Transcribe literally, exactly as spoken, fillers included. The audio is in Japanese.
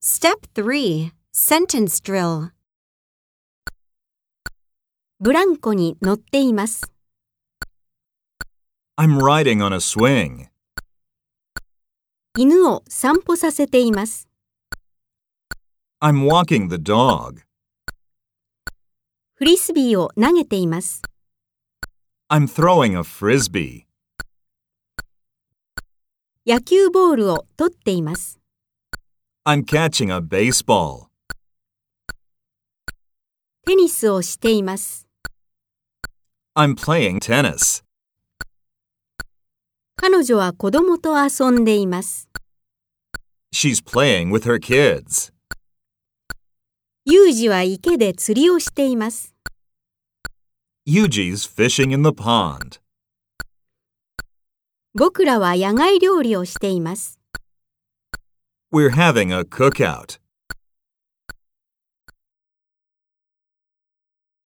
Step three. Sentence drill. ブランコに乗っています。 I'm riding on a swing. 犬を散歩させています。 I'm walking the dog. フリスビーを投げています。 I'm throwing a frisbee. 野球ボールを取っています。 I'm catching a baseball. テニスをしています。 I'm playing tennis. 彼女は子供と遊んでいます。 She's playing with her kids. ユージは池で釣りをしています。 Yuji's fishing in the pond. 僕らは野外料理をしています。 We're having a cookout.